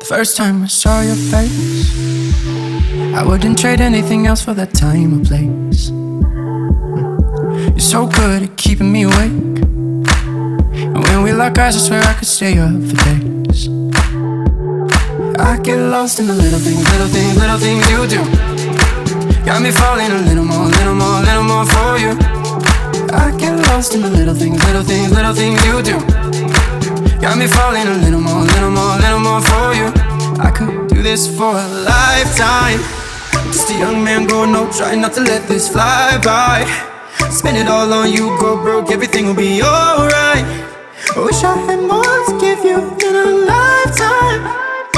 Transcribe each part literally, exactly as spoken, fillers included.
First time I saw your face, I wouldn't trade anything else for that time or place. You're so good at keeping me awake, and when we lock eyes I swear I could stay up for days. I get lost in the little things, little things, little things you do. Got me falling a little more, little more, little more for you. I get lost in the little things, little things, little things you do. Got me falling a little more, little more, little more for you. I could do this for a lifetime. Just a young man growing up, trying not to let this fly by. Spend it all on you, go broke, everything will be alright. I wish I had more to give you in a lifetime.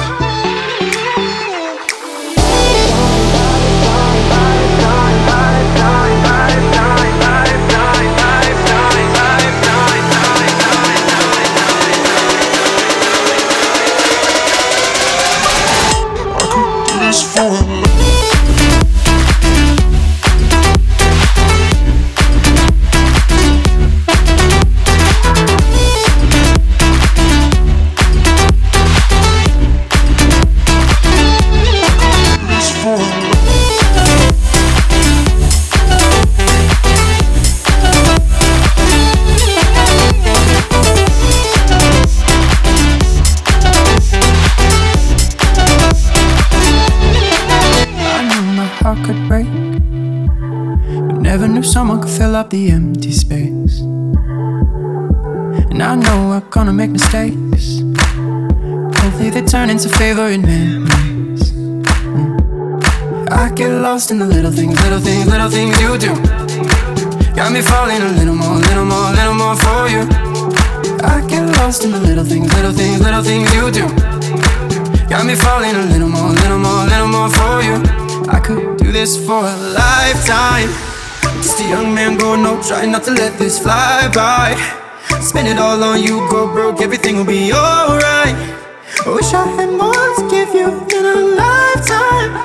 Could break, but never knew someone could fill up the empty space. And I know we're gonna make mistakes, hopefully they turn into favorite memories. mm. I get lost in the little things, little things, little things you do. Got me falling a little more, little more, little more for you. I get lost in the little things, little things, little things you do. Got me falling a little more, little more, little more for you. I could do this for a lifetime. Just a young man growing up, trying not to let this fly by. Spend it all on you, go broke, everything will be alright. I wish I had more to give you in a lifetime.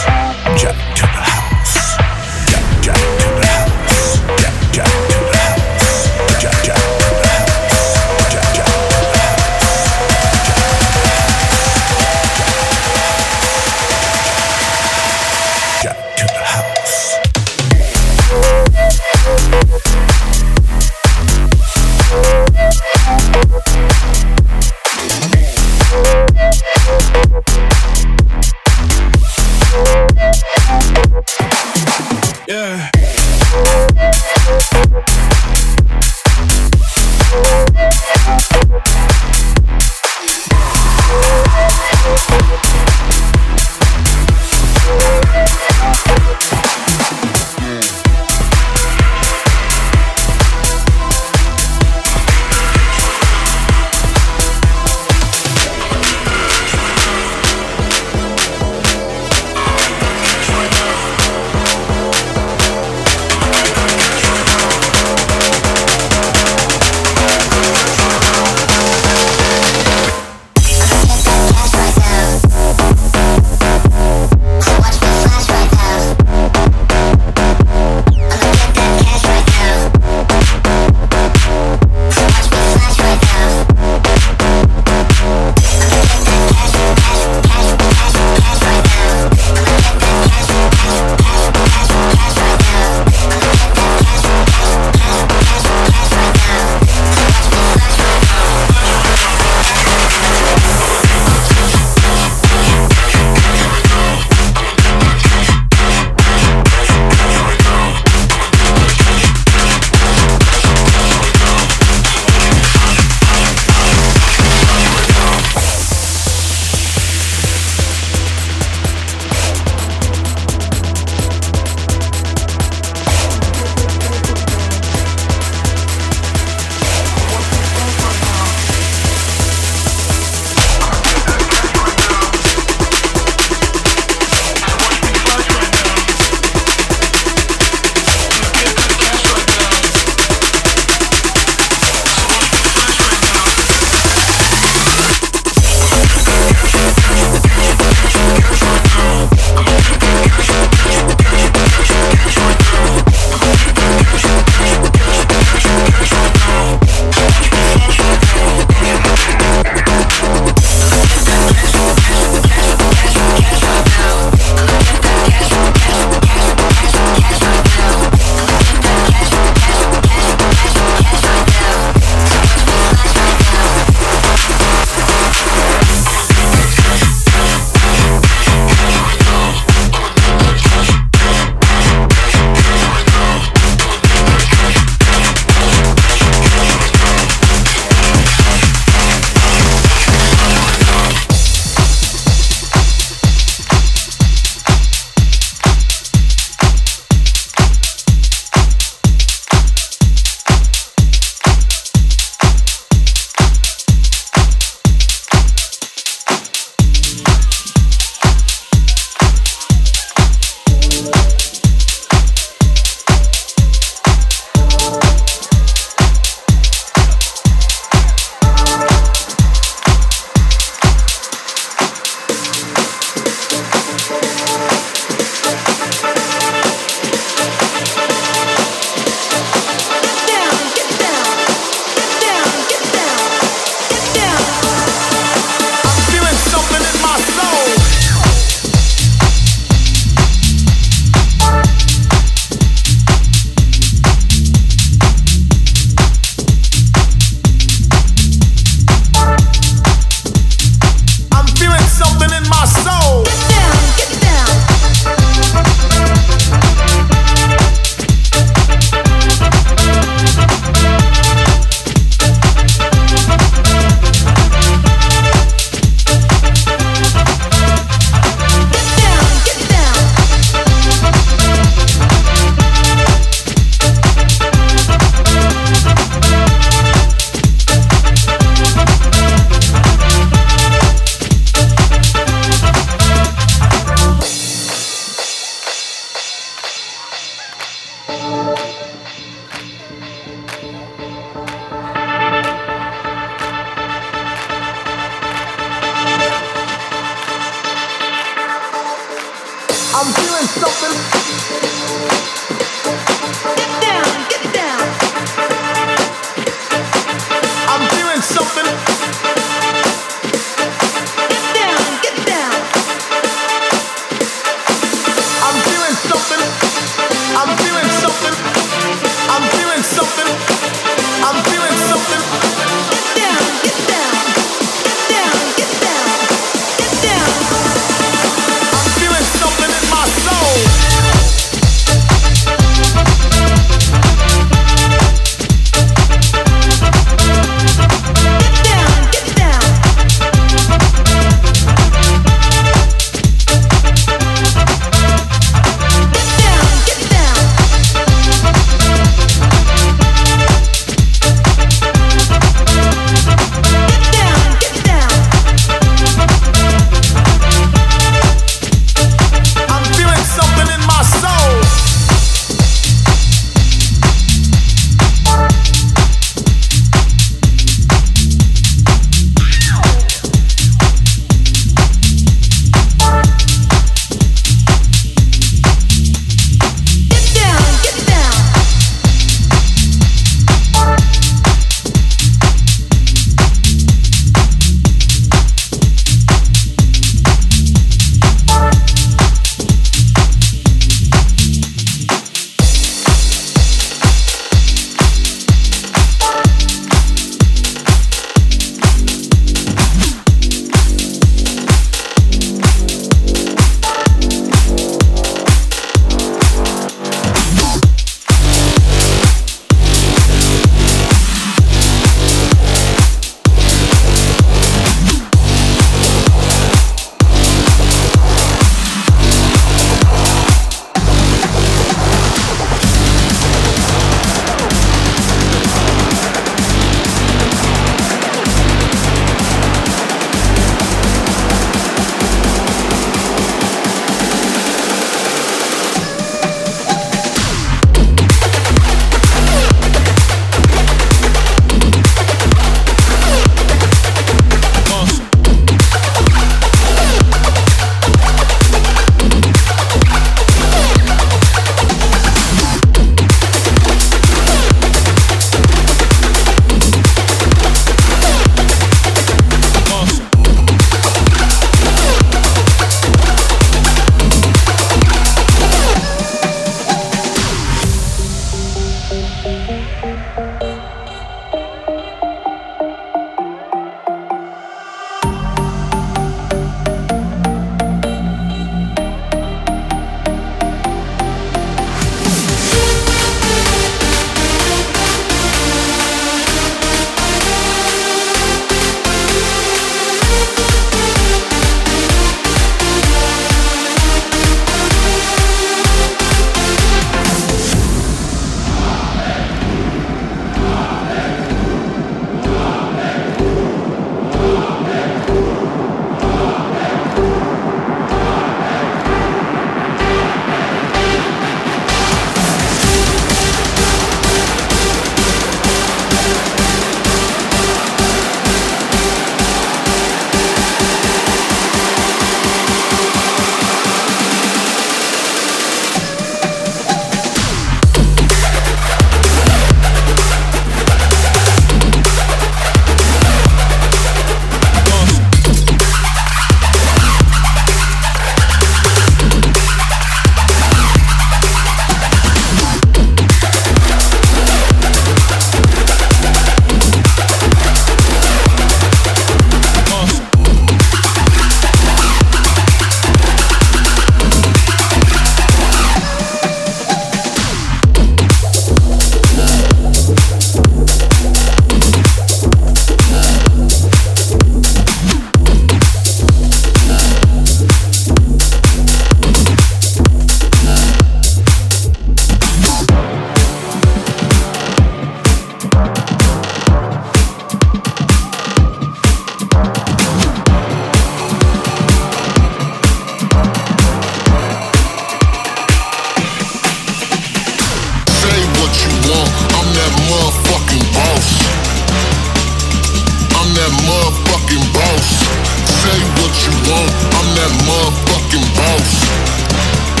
that motherfucking boss.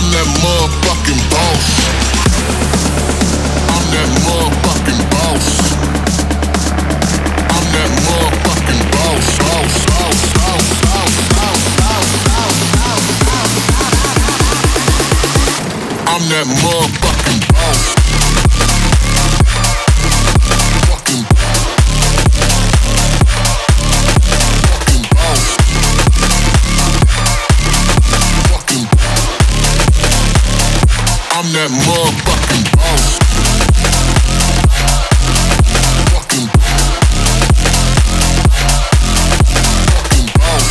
that motherfucking boss. I'm that motherfucking boss. I'm that motherfucking boss. Boss, boss, boss, boss, boss, boss, boss, boss, boss. I'm that motherfucking boss. Fucking, fucking boss. Fucking, I'm that motherfucking boss. Fucking, fucking boss.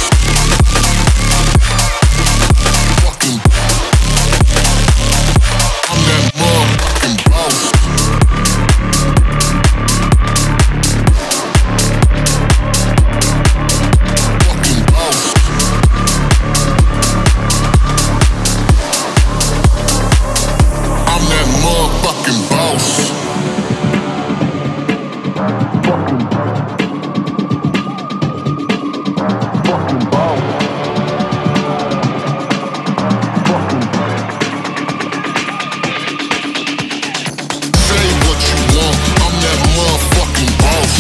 Fucking, I'm that motherfucking boss. Fucking boss. I'm that motherfucking boss. Fucking, fucking boss. Fucking. Say what you want. I'm that motherfucking boss.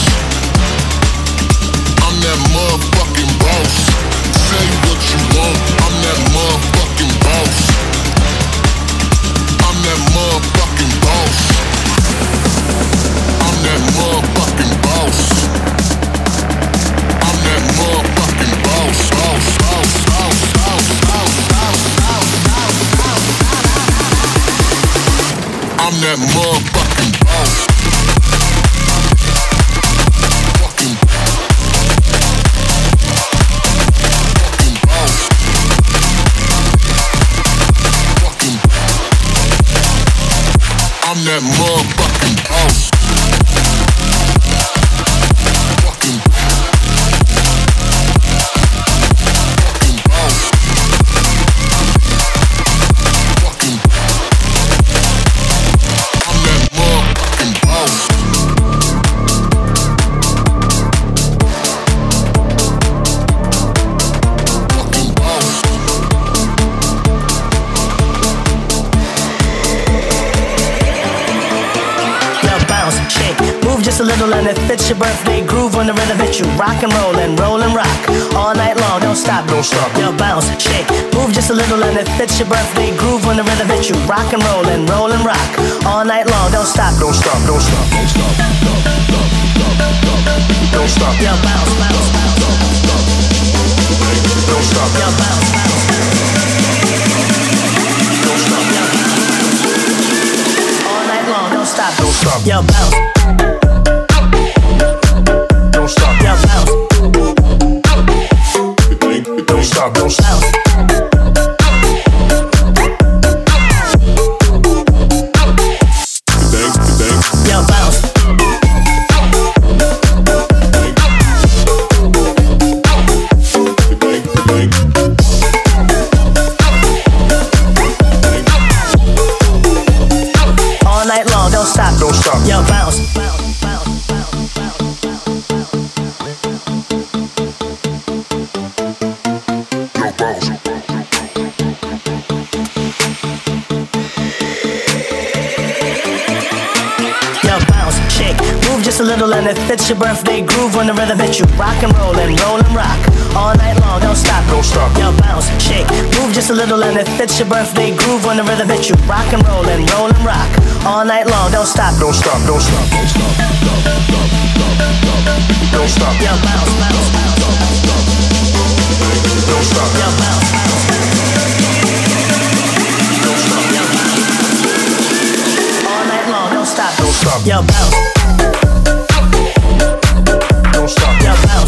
I'm that motherfucking boss. Say what you want. I'm that motherfucking boss. I'm that motherfucking boss. I'm that motherfucking boss. I'm that motherfucking boss. Boss, boss, boss, boss, boss, boss, boss, boss, boss. I'm that motherfucking boss. Fucking, fucking boss. Fucking, I'm that motherfucking boss. Fucking, fucking boss. Fucking, I'm that motherfucking boss. Fucking boss. Now bounce, shake, move just a little and it fits your birthday groove on the rhythm hit you. Rock and roll and roll and rock all night long. Don't stop, don't stop. Yo, bounce, shake, move just a little and it fits your birthday groove on the rhythm hit you. Rock and roll and roll and rock all night long. Don't stop, don't stop, don't stop, don't stop, don't stop. Yo, bounce, bounce, bounce, don't stop. Yo, bounce, bounce, don't stop. Yo, bounce. All night long, don't stop, don't stop. Yo, bounce. Don't stop. Yo, bounce. Don't stop, don't stop. Yo, bounce. All night long, don't stop, don't stop. Yo, bounce. Bounce, bounce, bounce, Yo, boss. Yo, bounce, shake, move just a little and it fits your birthday groove on the rhythm hit you. Rock and roll and roll and rock all night long. Don't stop, Don't stop. Yo, bounce, shake, move just a little and it fits your birthday groove on the rhythm hit you. Rock and roll and roll and rock all night long. Don't stop, Don't stop, don't stop, don't stop, don't stop. Yo, bounce, bounce, bounce, Don't stop. yo, bounce, bounce, Don't stop. yo, bounce. All night long, don't stop, Don't stop. yo, bounce, Don't stop. yo, bounce,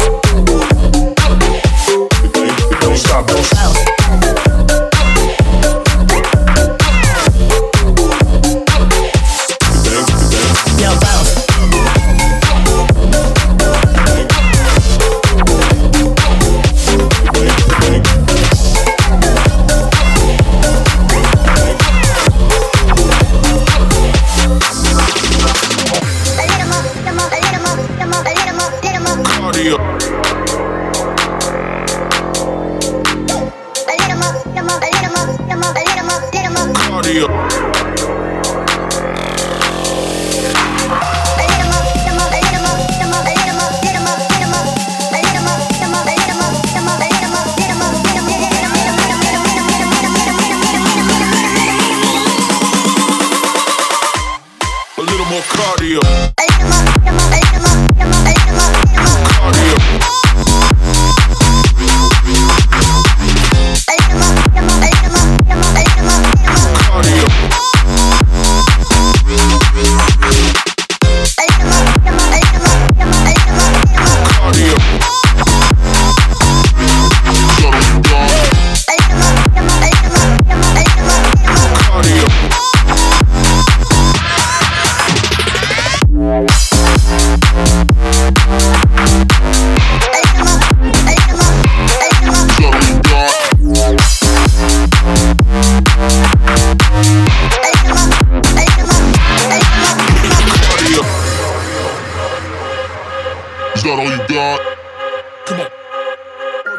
Don't stop. Don't stop. bounce. Yo, bounce.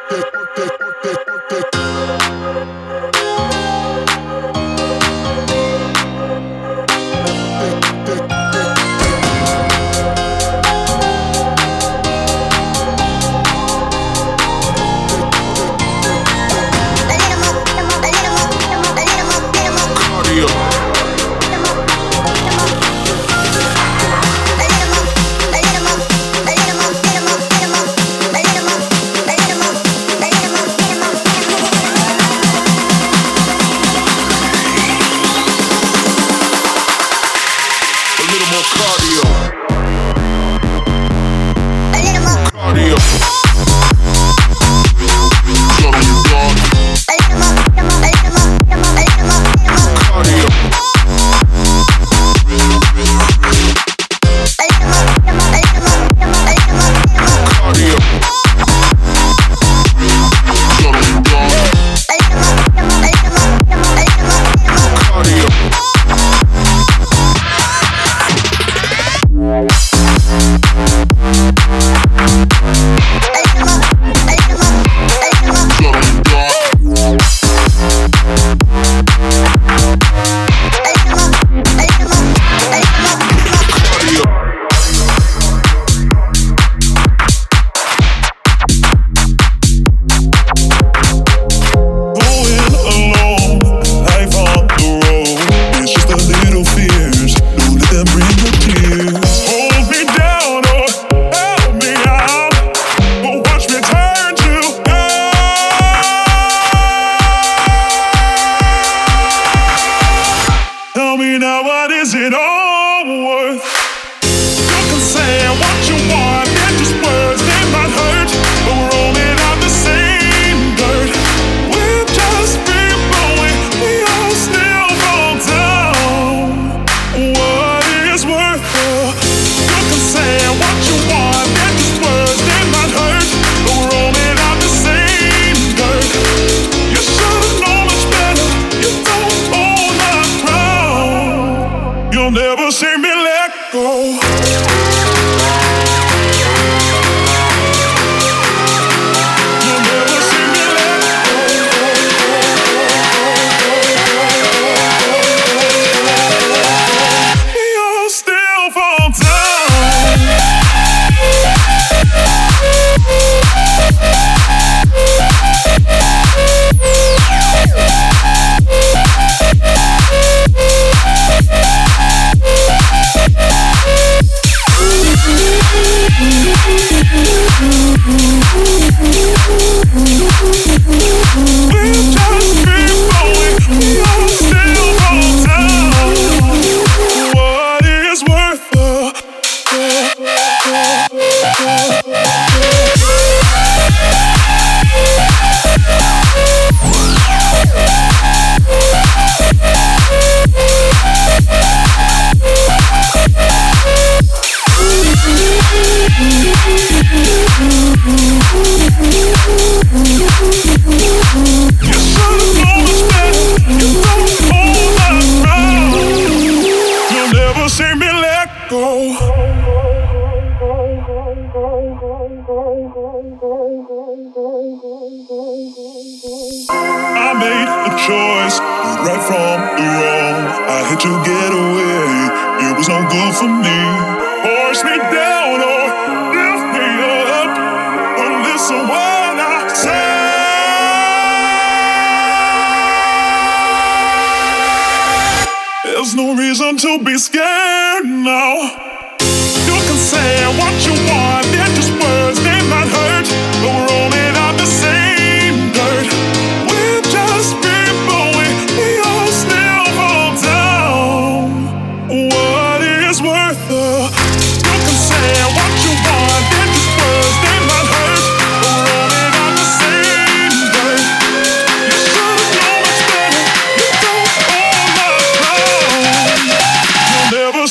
Never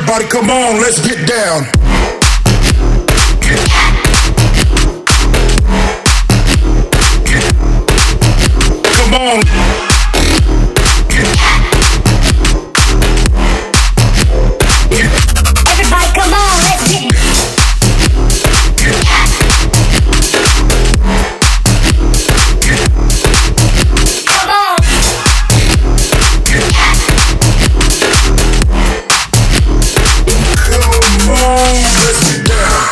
Everybody come on, let's get down. Come on. Everybody come on, let's get Come on. Come on, let's get down.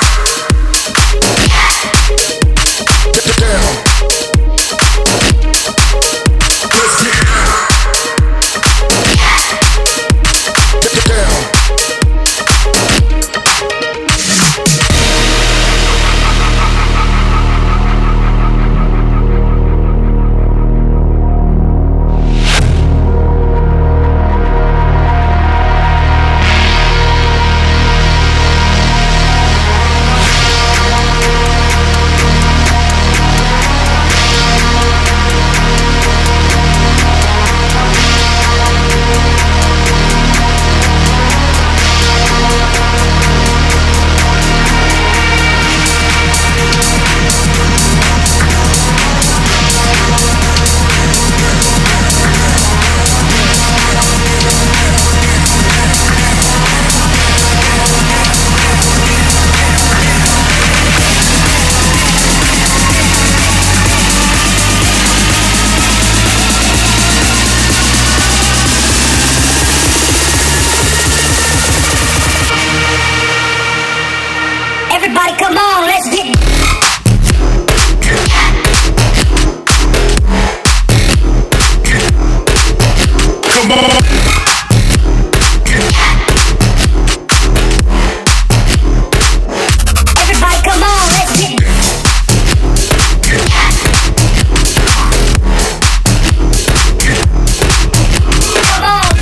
Get down. Let's get Get down. Everybody come on, let's get Come on. Everybody come on, let's get Come on.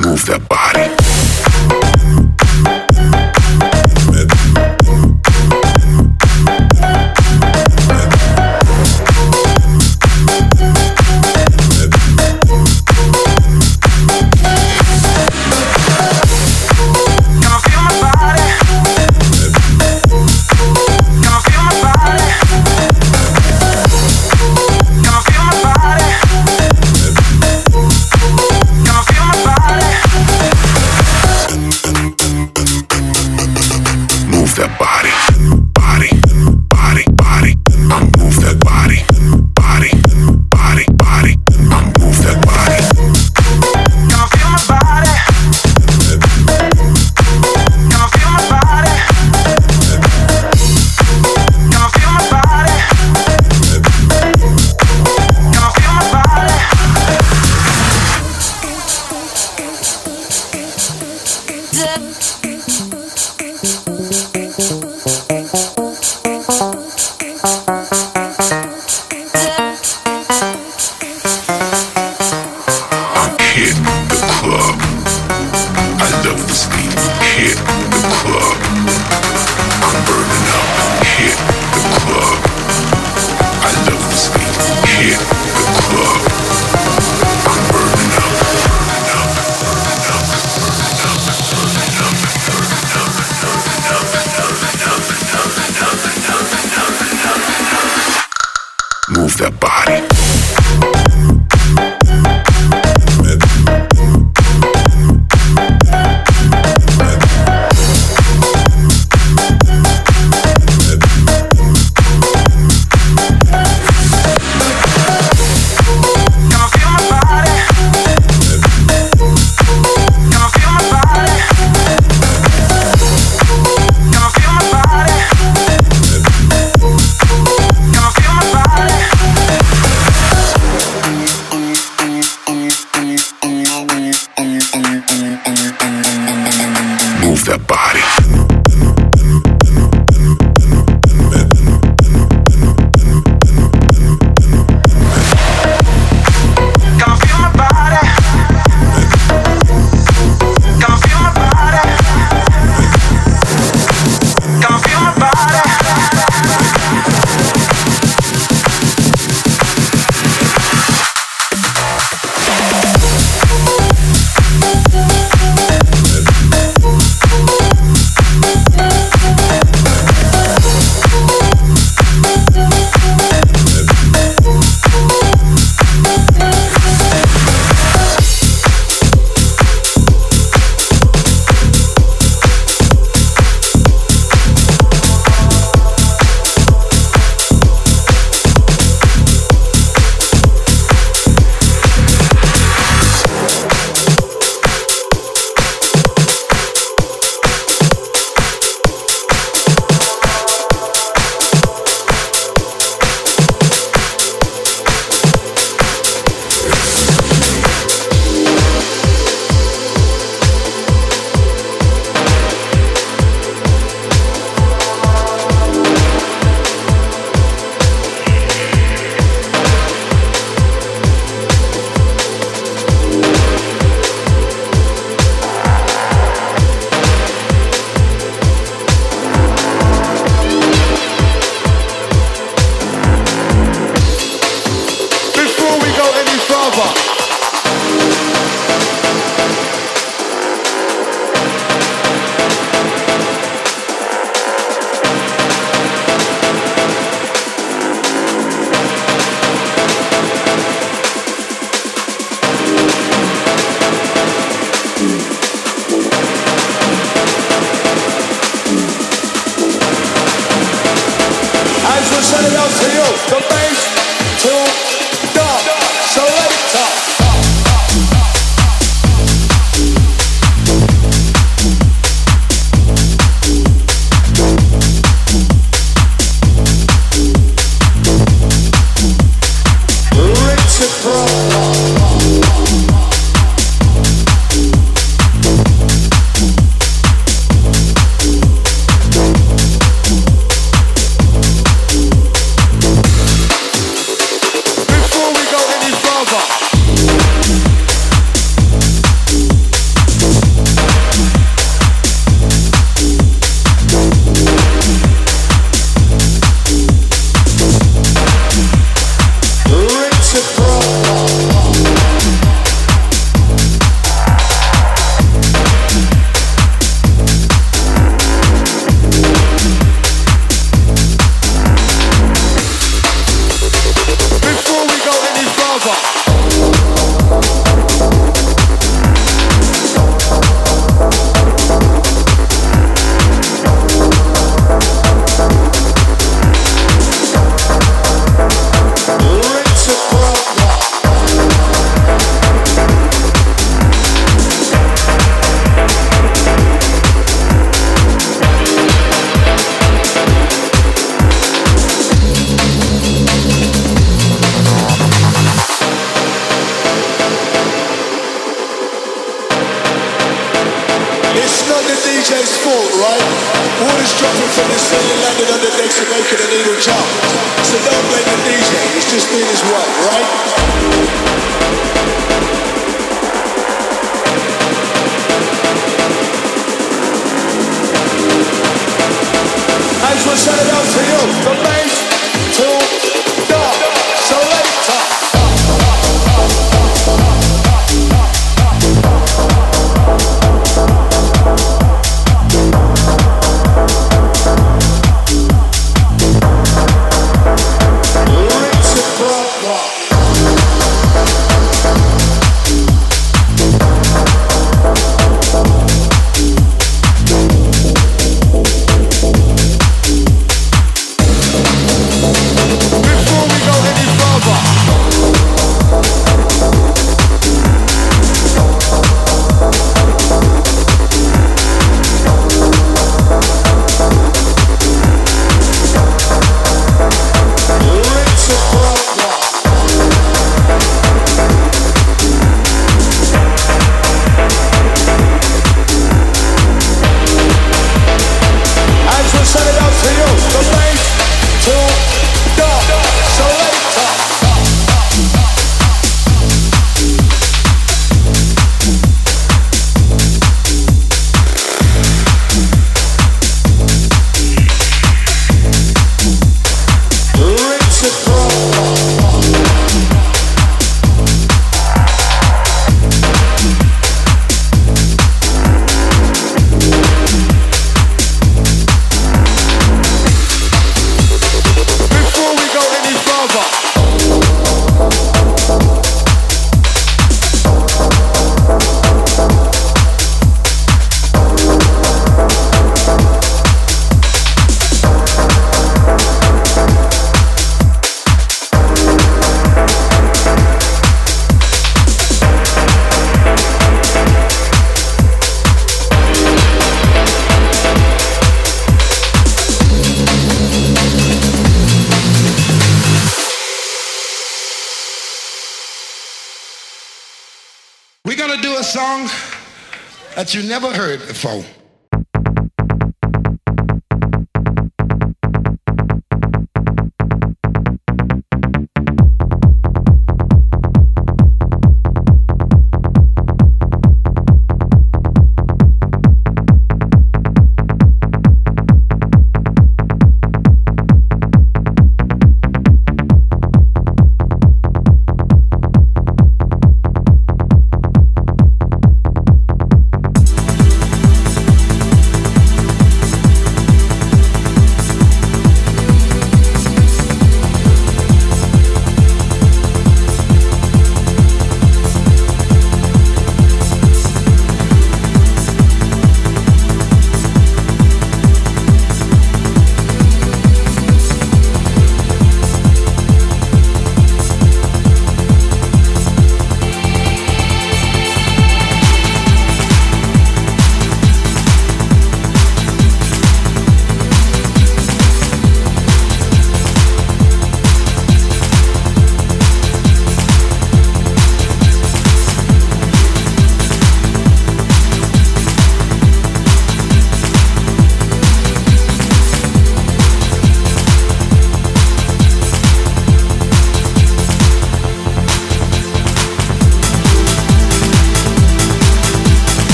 Move that body. J's fault, right? Water's dropping from the ceiling, landing on the decks and making the needle jump. So don't blame the D J, he's just doing his work, right? As we'll set it up for you, from bass to dark, so later. We're gonna do a song that you never heard before.